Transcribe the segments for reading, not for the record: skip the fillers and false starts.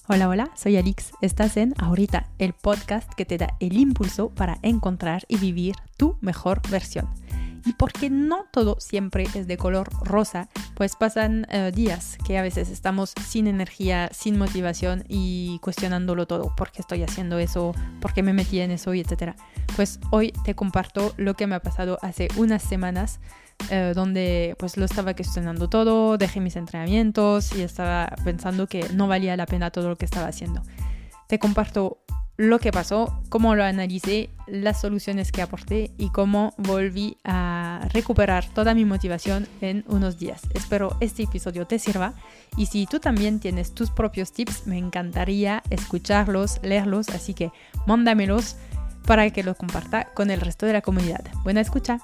Hola, hola, soy Alix. Estás en Ahorita, el podcast que te da el impulso para encontrar y vivir tu mejor versión. Y porque no todo siempre es de color rosa, pues pasan días que a veces estamos sin energía, sin motivación y cuestionándolo todo. ¿Por qué estoy haciendo eso? ¿Por qué me metí en eso? Y etcétera. Pues hoy te comparto lo que me ha pasado hace unas semanas donde pues lo estaba cuestionando todo, dejé mis entrenamientos y estaba pensando que no valía la pena todo lo que estaba haciendo. Te comparto lo que pasó, cómo lo analicé, las soluciones que aporté y cómo volví a recuperar toda mi motivación en unos días. Espero este episodio te sirva y si tú también tienes tus propios tips, me encantaría escucharlos, leerlos, así que mándamelos para que los comparta con el resto de la comunidad. Buena escucha.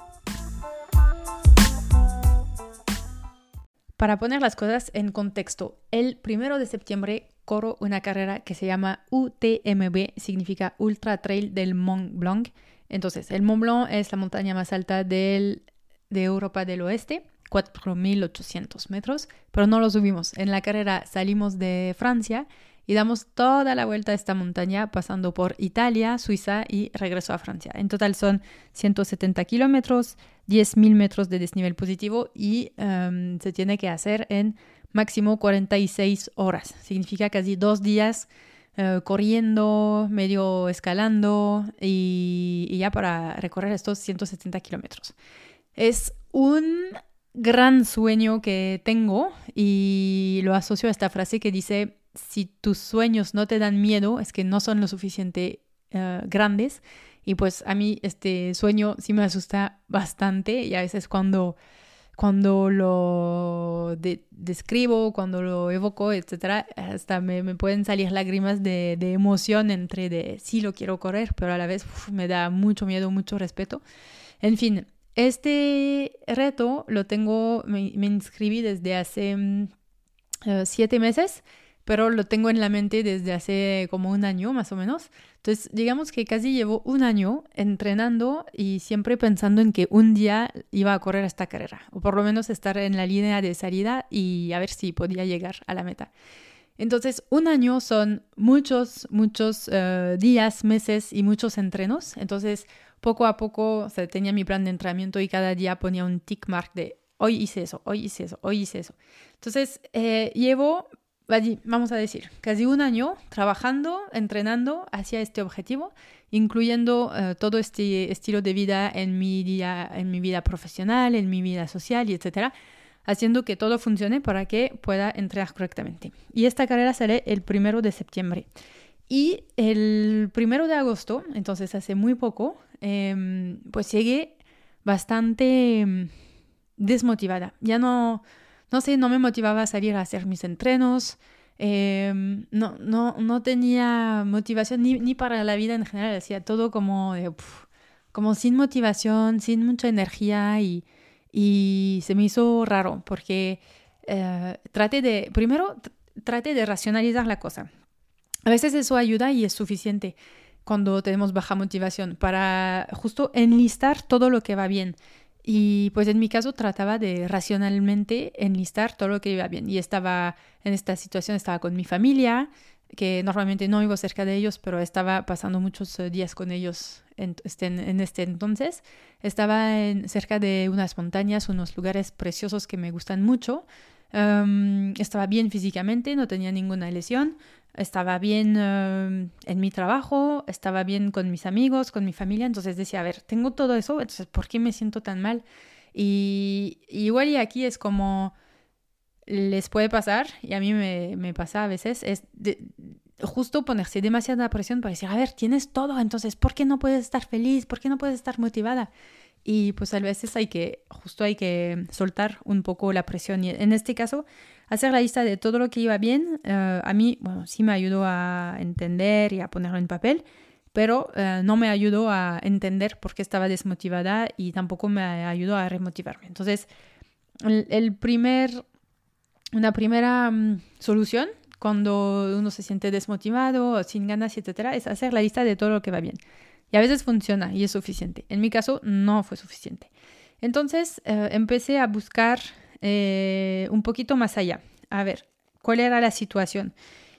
Para poner las cosas en contexto, el 1 de septiembre corro una carrera que se llama UTMB, significa Ultra Trail del Mont Blanc. Entonces, el Mont Blanc es la montaña más alta de Europa del Oeste, 4.800 metros, pero no lo subimos. En la carrera salimos de Francia y damos toda la vuelta a esta montaña pasando por Italia, Suiza y regreso a Francia. En total son 170 kilómetros, 10.000 metros de desnivel positivo y se tiene que hacer en máximo 46 horas. Significa casi 2 días corriendo, medio escalando y ya para recorrer estos 170 kilómetros. Es un gran sueño que tengo y lo asocio a esta frase que dice: si tus sueños no te dan miedo, es que no son lo suficiente grandes. Y pues a mí este sueño sí me asusta bastante y a veces cuando lo describo, cuando lo evoco, etcétera, hasta me pueden salir lágrimas de emoción entre de sí lo quiero correr, pero a la vez me da mucho miedo, mucho respeto. En fin, este reto lo tengo, me inscribí desde hace 7 meses, pero lo tengo en la mente desde hace como 1 año más o menos. Entonces, digamos que casi llevo 1 año entrenando y siempre pensando en que un día iba a correr esta carrera, o por lo menos estar en la línea de salida y a ver si podía llegar a la meta. Entonces, 1 año son muchos días, meses y muchos entrenos. Entonces, poco a poco, o sea, tenía mi plan de entrenamiento y cada día ponía un tick mark de hoy hice eso, hoy hice eso, hoy hice eso. Entonces, llevo, vamos a decir, casi 1 año trabajando, entrenando hacia este objetivo, incluyendo todo este estilo de vida en mi vida profesional, en mi vida social y etcétera, haciendo que todo funcione para que pueda entrenar correctamente. Y esta carrera sale el 1 de septiembre. Y el 1 de agosto, entonces hace muy poco, pues llegué bastante desmotivada. Ya no me motivaba a salir a hacer mis entrenos. No tenía motivación ni para la vida en general. Hacía todo como sin motivación, sin mucha energía y se me hizo raro porque traté de racionalizar la cosa. A veces eso ayuda y es suficiente cuando tenemos baja motivación para justo enlistar todo lo que va bien. Y pues en mi caso trataba de racionalmente enlistar todo lo que iba bien. Y estaba en esta situación, estaba con mi familia, que normalmente no vivo cerca de ellos, pero estaba pasando muchos días con ellos en este entonces. Estaba cerca de unas montañas, unos lugares preciosos que me gustan mucho. Estaba bien físicamente, no tenía ninguna lesión. Estaba bien en mi trabajo, estaba bien con mis amigos, con mi familia. Entonces decía, a ver, tengo todo eso, entonces ¿por qué me siento tan mal? Y igual y aquí es como les puede pasar, y a mí me pasa a veces, es justo ponerse demasiada presión para decir, a ver, tienes todo, entonces ¿por qué no puedes estar feliz? ¿Por qué no puedes estar motivada? Y pues a veces hay que soltar un poco la presión. Y en este caso, hacer la lista de todo lo que iba bien, a mí, bueno, sí me ayudó a entender y a ponerlo en papel, pero no me ayudó a entender por qué estaba desmotivada y tampoco me ayudó a remotivarme. Entonces, una primera solución cuando uno se siente desmotivado, sin ganas, etcétera, es hacer la lista de todo lo que va bien. Y a veces funciona y es suficiente. En mi caso no fue suficiente. Entonces empecé a buscar un poquito más allá. A ver, ¿cuál era la situación?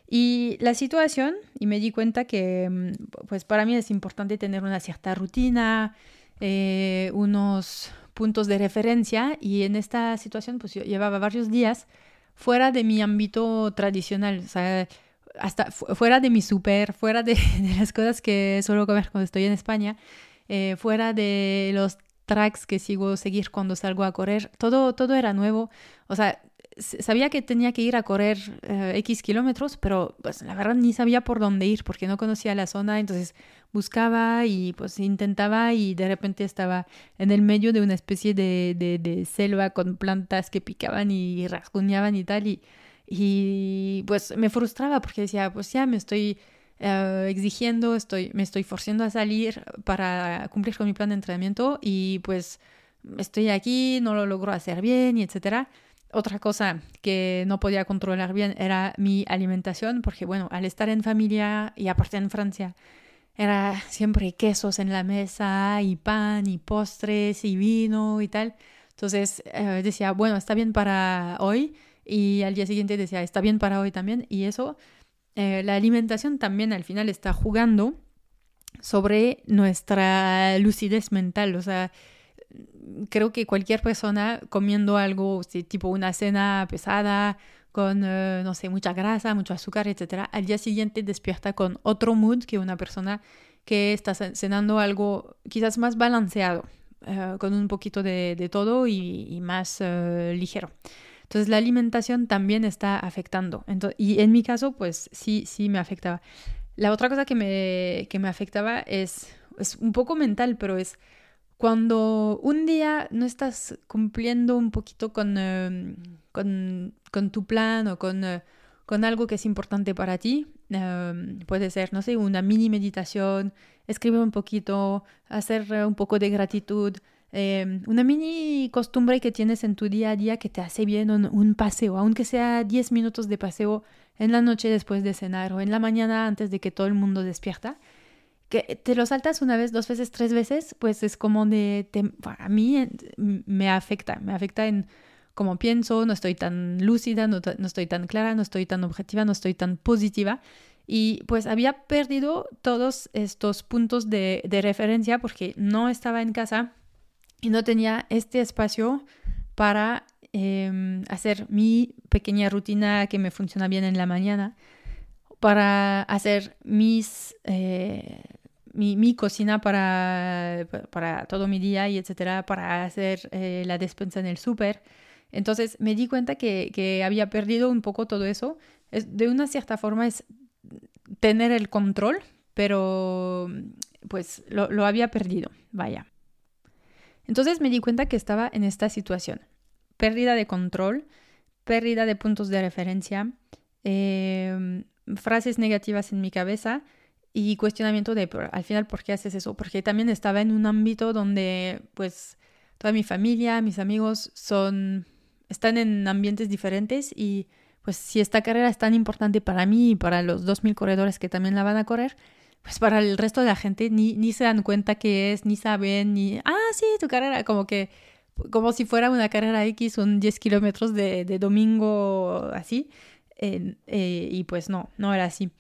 Y la situación, y me di cuenta que pues para mí es importante tener una cierta rutina, unos puntos de referencia, y en esta situación pues yo llevaba varios días fuera de mi ámbito tradicional, o sea, hasta fuera de mi súper, fuera de las cosas que suelo comer cuando estoy en España, fuera de los tracks que seguir cuando salgo a correr, todo era nuevo, o sea, sabía que tenía que ir a correr X kilómetros, pero pues la verdad ni sabía por dónde ir porque no conocía la zona, entonces buscaba y pues intentaba y de repente estaba en el medio de una especie de selva con plantas que picaban y rasguñaban y tal y pues me frustraba porque decía, pues ya me estoy exigiendo, me estoy forzando a salir para cumplir con mi plan de entrenamiento y pues estoy aquí, no lo logro hacer bien y etcétera. Otra cosa que no podía controlar bien era mi alimentación, porque bueno, al estar en familia y aparte en Francia, era siempre quesos en la mesa y pan y postres y vino y tal. Entonces decía, bueno, está bien para hoy y al día siguiente decía, está bien para hoy también. Y eso, la alimentación también al final está jugando sobre nuestra lucidez mental, o sea, creo que cualquier persona comiendo algo, sí, tipo una cena pesada, con, no sé, mucha grasa, mucho azúcar, etcétera, al día siguiente despierta con otro mood que una persona que está cenando algo quizás más balanceado, con un poquito de todo y más ligero. Entonces la alimentación también está afectando. Y en mi caso, pues sí me afectaba. La otra cosa que me afectaba es un poco mental, pero es cuando un día no estás cumpliendo un poquito con tu plan o con algo que es importante para ti, puede ser, no sé, una mini meditación, escribir un poquito, hacer un poco de gratitud, una mini costumbre que tienes en tu día a día que te hace bien un paseo, aunque sea 10 minutos de paseo en la noche después de cenar o en la mañana antes de que todo el mundo despierta que te lo saltas una vez, dos veces, tres veces, pues es como a mí me afecta en cómo pienso, no estoy tan lúcida, no estoy tan clara, no estoy tan objetiva, no estoy tan positiva. Y pues había perdido todos estos puntos de referencia porque no estaba en casa y no tenía este espacio para hacer mi pequeña rutina que me funciona bien en la mañana, para hacer mi cocina para todo mi día y etcétera, para hacer la despensa en el súper. Entonces me di cuenta que había perdido un poco todo eso. De una cierta forma es tener el control, pero pues lo había perdido, vaya. Entonces me di cuenta que estaba en esta situación. Pérdida de control, pérdida de puntos de referencia, frases negativas en mi cabeza y cuestionamiento de al final por qué haces eso, porque también estaba en un ámbito donde pues toda mi familia, mis amigos están en ambientes diferentes y pues si esta carrera es tan importante para mí y para los 2000 corredores que también la van a correr, pues para el resto de la gente ni se dan cuenta qué es, ni saben, sí, tu carrera, como si fuera una carrera X, un 10 kilómetros de domingo así. Y pues no era así.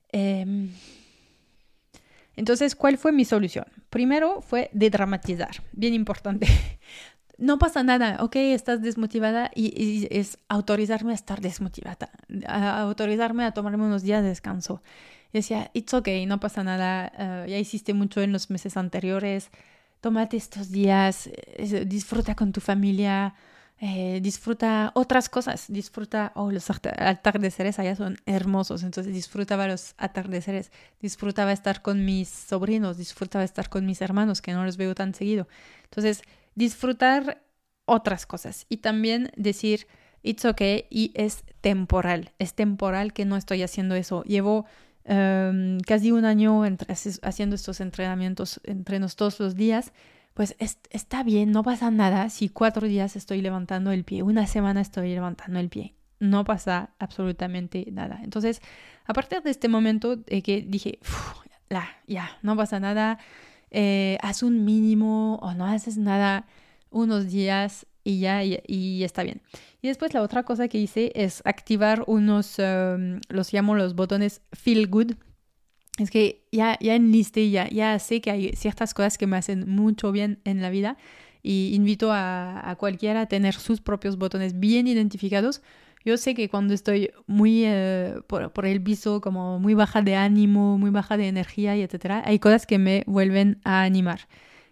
Entonces, ¿cuál fue mi solución? Primero fue de dramatizar, bien importante. No pasa nada, ok, estás desmotivada y es autorizarme a estar desmotivada, autorizarme a tomarme unos días de descanso. Y decía, it's okay, no pasa nada, ya hiciste mucho en los meses anteriores, tómate estos días, disfruta con tu familia, disfruta otras cosas, disfruta, los atardeceres allá son hermosos, entonces disfrutaba los atardeceres, disfrutaba estar con mis sobrinos, disfrutaba estar con mis hermanos que no los veo tan seguido. Entonces, disfrutar otras cosas y también decir, it's okay y es temporal que no estoy haciendo eso. Llevo casi un año haciendo estos entrenamientos, entrenos todos los días, pues está bien, no pasa nada si 4 días estoy levantando el pie, una semana estoy levantando el pie, no pasa absolutamente nada. Entonces, a partir de este momento que dije, ya, no pasa nada, haz un mínimo o no haces nada unos días y está bien. Y después la otra cosa que hice es activar unos, los llamo los botones Feel Good. Es que ya enlisté, ya sé que hay ciertas cosas que me hacen mucho bien en la vida y invito a cualquiera a tener sus propios botones bien identificados. Yo sé que cuando estoy muy por el piso, como muy baja de ánimo, muy baja de energía y etcétera, hay cosas que me vuelven a animar.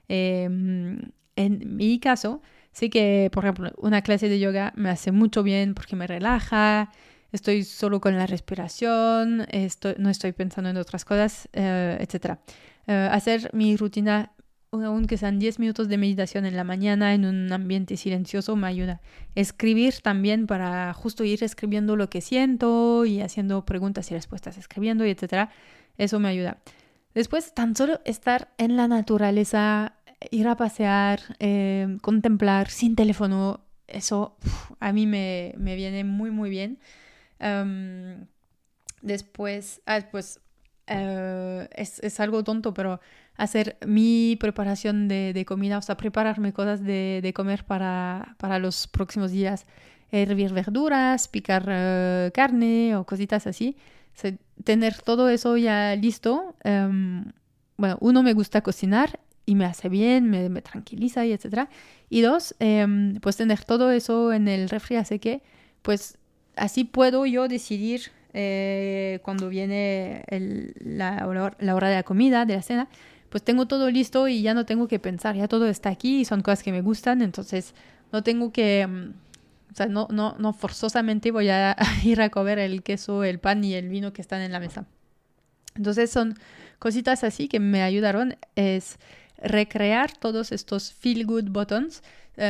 En mi caso, sé que, por ejemplo, una clase de yoga me hace mucho bien porque me relaja, estoy solo con la respiración, no estoy pensando en otras cosas, etc. Hacer mi rutina, aunque sean 10 minutos de meditación en la mañana en un ambiente silencioso, me ayuda. Escribir también para justo ir escribiendo lo que siento y haciendo preguntas y respuestas, escribiendo y etc. Eso me ayuda. Después, tan solo estar en la naturaleza, ir a pasear, contemplar sin teléfono, eso a mí me viene muy, muy bien. Um, Después, pues es algo tonto, pero hacer mi preparación de comida, o sea, prepararme cosas de comer para los próximos días, hervir verduras, picar carne o cositas así. O sea, tener todo eso ya listo. Bueno, uno, me gusta cocinar y me hace bien, me tranquiliza y etcétera. Y dos, pues tener todo eso en el refri, así que pues así puedo yo decidir cuando viene la hora de la comida, de la cena, pues tengo todo listo y ya no tengo que pensar, ya todo está aquí y son cosas que me gustan, entonces no tengo que, o sea, no forzosamente voy a ir a comer el queso, el pan y el vino que están en la mesa. Entonces son cositas así que me ayudaron, es recrear todos estos feel good buttons,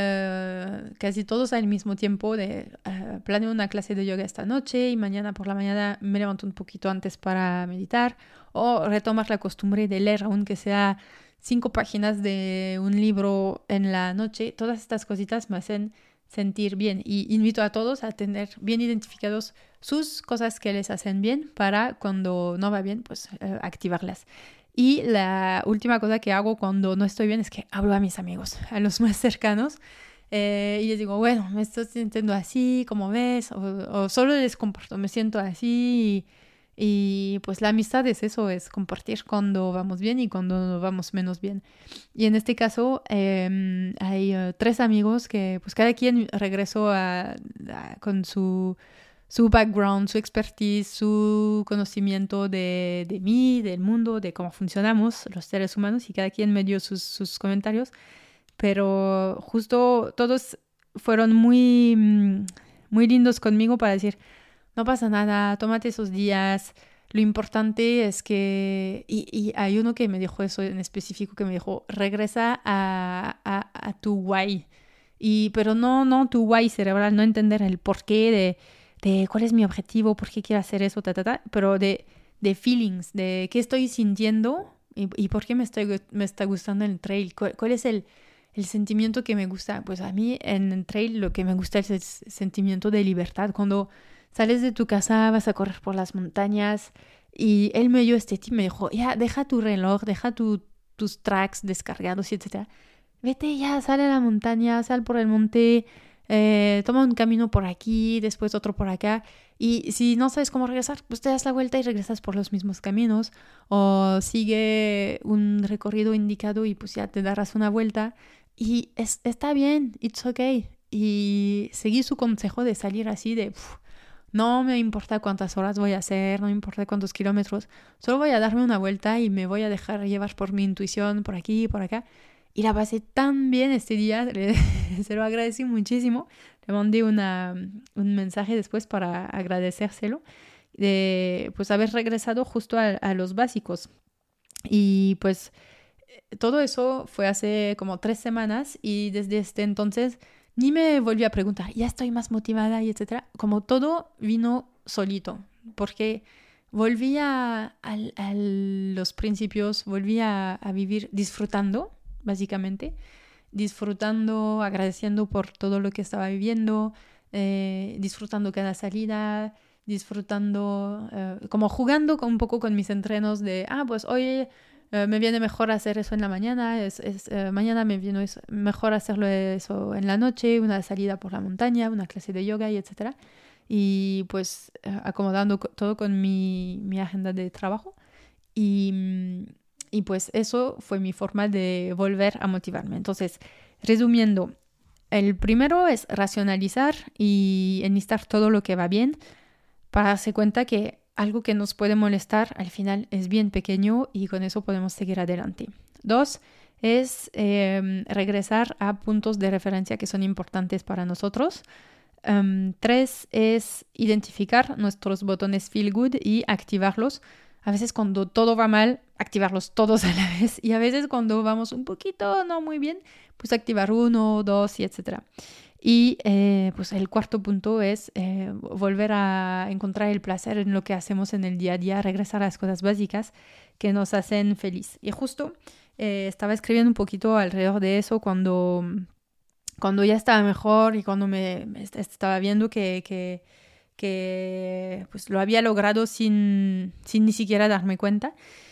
casi todos al mismo tiempo de planeo una clase de yoga esta noche y mañana por la mañana me levanto un poquito antes para meditar o retomar la costumbre de leer, aunque sea 5 páginas de un libro en la noche. Todas estas cositas me hacen sentir bien y invito a todos a tener bien identificados sus cosas que les hacen bien para cuando no va bien, pues activarlas. Y la última cosa que hago cuando no estoy bien es que hablo a mis amigos, a los más cercanos, y les digo, bueno, me estoy sintiendo así, ¿cómo ves? O solo les comparto, me siento así. Y pues la amistad es eso, es compartir cuando vamos bien y cuando vamos menos bien. Y en este caso hay 3 amigos que pues cada quien regresó con su background, su expertise, su conocimiento de mí, del mundo, de cómo funcionamos los seres humanos y cada quien me dio sus comentarios, pero justo todos fueron muy lindos conmigo para decir, no pasa nada, tómate esos días, lo importante es que, y hay uno que me dijo eso en específico, que me dijo, regresa a tu why, pero no tu why cerebral, no entender el porqué de cuál es mi objetivo, por qué quiero hacer eso, pero de feelings, de qué estoy sintiendo y por qué me está gustando el trail, cuál es el sentimiento que me gusta. Pues a mí en el trail lo que me gusta es el sentimiento de libertad, cuando sales de tu casa, vas a correr por las montañas y él me dio este tip, me dijo, ya, deja tu reloj, deja tus tracks descargados, etcétera. Vete ya, sale a la montaña, sal por el monte, toma un camino por aquí, después otro por acá. Y si no sabes cómo regresar, pues te das la vuelta y regresas por los mismos caminos. O sigue un recorrido indicado y pues ya te darás una vuelta. Y está bien, it's okay. Y seguí su consejo de salir así de... no me importa cuántas horas voy a hacer, no me importa cuántos kilómetros, solo voy a darme una vuelta y me voy a dejar llevar por mi intuición, por aquí y por acá. Y la pasé tan bien este día, se lo agradecí muchísimo. Le mandé un mensaje después para agradecérselo de pues haber regresado justo a los básicos. Y pues todo eso fue hace como 3 semanas y desde este entonces ni me volví a preguntar, ya estoy más motivada y etcétera. Como todo vino solito, porque volví a los principios, volví a vivir disfrutando, básicamente, disfrutando, agradeciendo por todo lo que estaba viviendo, disfrutando cada salida, disfrutando, como jugando un poco con mis entrenos de, pues hoy Me viene mejor hacer eso en la mañana, mañana me viene mejor hacerlo eso en la noche, una salida por la montaña, una clase de yoga y etcétera. Y pues acomodando todo con mi agenda de trabajo. Y pues eso fue mi forma de volver a motivarme. Entonces, resumiendo, el primero es racionalizar y enlistar todo lo que va bien para darse cuenta que algo que nos puede molestar al final es bien pequeño y con eso podemos seguir adelante. 2 es regresar a puntos de referencia que son importantes para nosotros. 3 es identificar nuestros botones feel good y activarlos. A veces cuando todo va mal, activarlos todos a la vez. Y a veces cuando vamos un poquito no muy bien, pues activar 1, 2 y etcétera. Y pues el cuarto punto es volver a encontrar el placer en lo que hacemos en el día a día, regresar a las cosas básicas que nos hacen feliz. Y justo estaba escribiendo un poquito alrededor de eso cuando ya estaba mejor y cuando me estaba viendo que pues lo había logrado sin ni siquiera darme cuenta.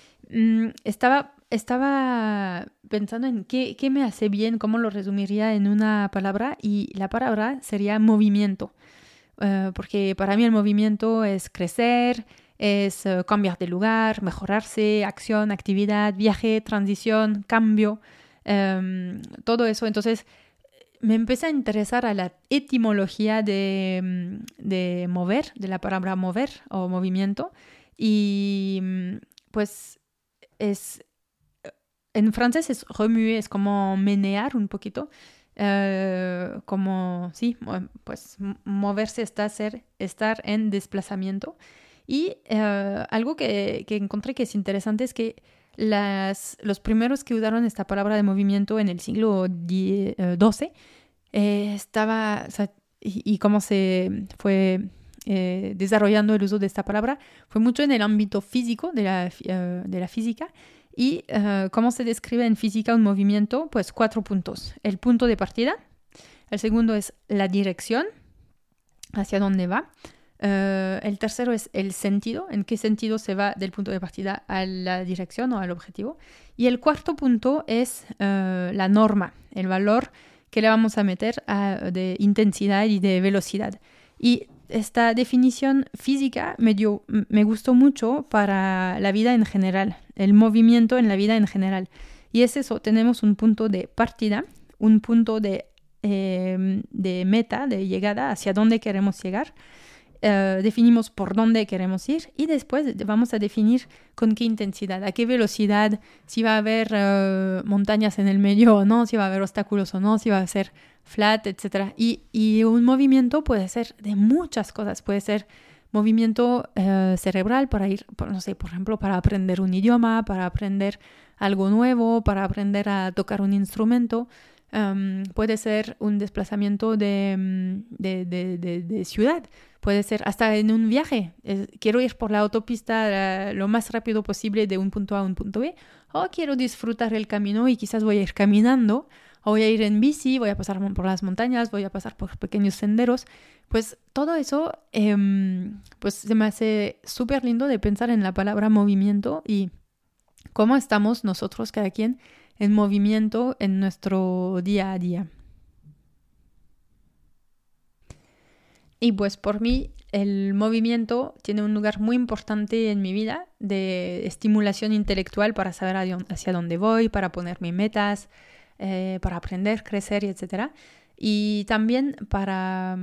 Estaba pensando en qué me hace bien, cómo lo resumiría en una palabra, y la palabra sería movimiento. Porque para mí el movimiento es crecer, es cambiar de lugar, mejorarse, acción, actividad, viaje, transición, cambio, todo eso. Entonces me empecé a interesar a la etimología de mover, de la palabra mover o movimiento, y pues en francés es remuer, es como menear un poquito, como, sí, pues moverse está estar en desplazamiento. Y algo que encontré que es interesante es que los primeros que usaron esta palabra de movimiento en el siglo XII o sea, y cómo se fue desarrollando el uso de esta palabra fue mucho en el ámbito físico de la física. Y cómo se describe en física un movimiento, pues 4 puntos. El punto de partida, el segundo es la dirección, hacia dónde va. El tercero es el sentido, en qué sentido se va del punto de partida a la dirección o al objetivo. Y el cuarto punto es la norma, el valor que le vamos a meter de intensidad y de velocidad. Y esta definición física me gustó mucho para la vida en general, el movimiento en la vida en general. Y es eso, tenemos un punto de partida, un punto de meta, de llegada, hacia dónde queremos llegar. Definimos por dónde queremos ir y después vamos a definir con qué intensidad, a qué velocidad, si va a haber montañas en el medio o no, si va a haber obstáculos o no, si va a ser flat, etc. Y un movimiento puede ser de muchas cosas, puede ser movimiento cerebral para ir, no sé, por ejemplo, para aprender un idioma, para aprender algo nuevo, para aprender a tocar un instrumento. Puede ser un desplazamiento de ciudad, puede ser hasta en un viaje. Quiero ir por la autopista lo más rápido posible de un punto A a un punto B, o quiero disfrutar el camino y quizás voy a ir caminando, o voy a ir en bici, voy a pasar por las montañas, voy a pasar por pequeños senderos. Pues todo eso pues se me hace súper lindo de pensar en la palabra movimiento y cómo estamos nosotros, cada quien, en movimiento en nuestro día a día. Y pues por mí el movimiento tiene un lugar muy importante en mi vida de estimulación intelectual para saber hacia dónde voy, para ponerme metas, para aprender, crecer, etc. Y también para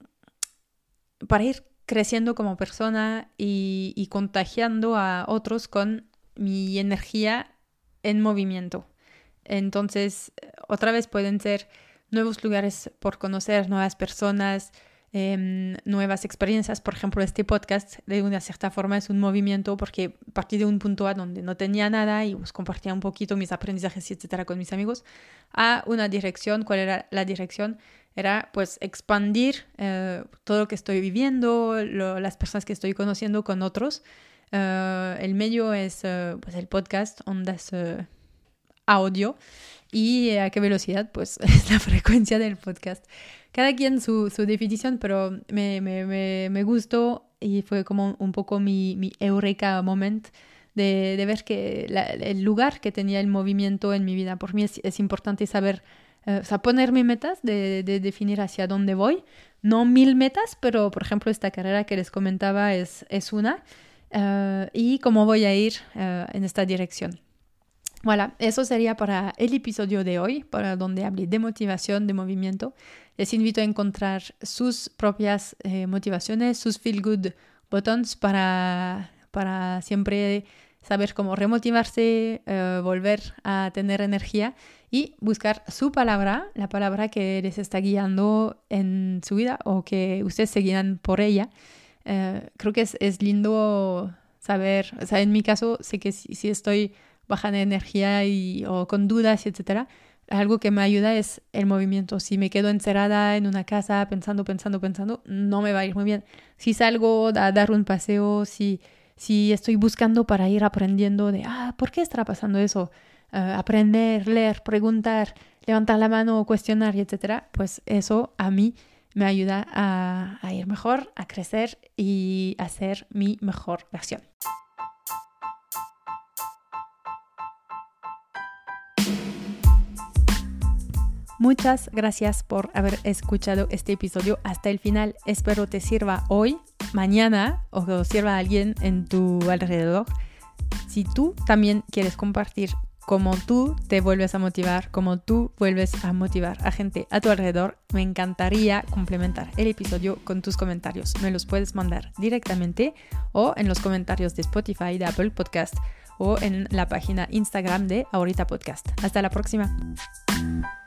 ir creciendo como persona y contagiando a otros con mi energía en movimiento. Entonces, otra vez pueden ser nuevos lugares por conocer, nuevas personas, nuevas experiencias. Por ejemplo, este podcast de una cierta forma es un movimiento porque partí de un punto A donde no tenía nada y pues compartía un poquito mis aprendizajes, etcétera, con mis amigos, a una dirección. ¿Cuál era la dirección? Era pues expandir todo lo que estoy viviendo, las personas que estoy conociendo con otros. El medio es pues el podcast, ondas audio, y a qué velocidad, pues es la frecuencia del podcast. Cada quien su definición, pero me gustó y fue como un poco mi eureka moment de ver que el lugar que tenía el movimiento en mi vida. Por mí es importante saber, ponerme metas, de definir hacia dónde voy. No 1000 metas, pero por ejemplo esta carrera que les comentaba es una. Y cómo voy a ir en esta dirección. Voilà, eso sería para el episodio de hoy, para donde hablé de motivación, de movimiento. Les invito a encontrar sus propias motivaciones, sus feel good buttons para siempre saber cómo remotivarse, volver a tener energía y buscar su palabra, la palabra que les está guiando en su vida o que ustedes seguirán por ella. Creo que es lindo saber, o sea, en mi caso sé que si estoy baja de energía o con dudas, etcétera, algo que me ayuda es el movimiento. Si me quedo encerrada en una casa pensando, no me va a ir muy bien. Si salgo a dar un paseo, si estoy buscando para ir aprendiendo ¿por qué estará pasando eso? Aprender, leer, preguntar, levantar la mano, cuestionar, etcétera, pues eso a mí me ayuda a ir mejor, a crecer y a ser mi mejor versión. Muchas gracias por haber escuchado este episodio hasta el final. Espero te sirva hoy, mañana o sirva a alguien en tu alrededor. Si tú también quieres compartir cómo tú te vuelves a motivar, cómo tú vuelves a motivar a gente a tu alrededor, me encantaría complementar el episodio con tus comentarios. Me los puedes mandar directamente o en los comentarios de Spotify, de Apple Podcast o en la página Instagram de Ahorita Podcast. Hasta la próxima.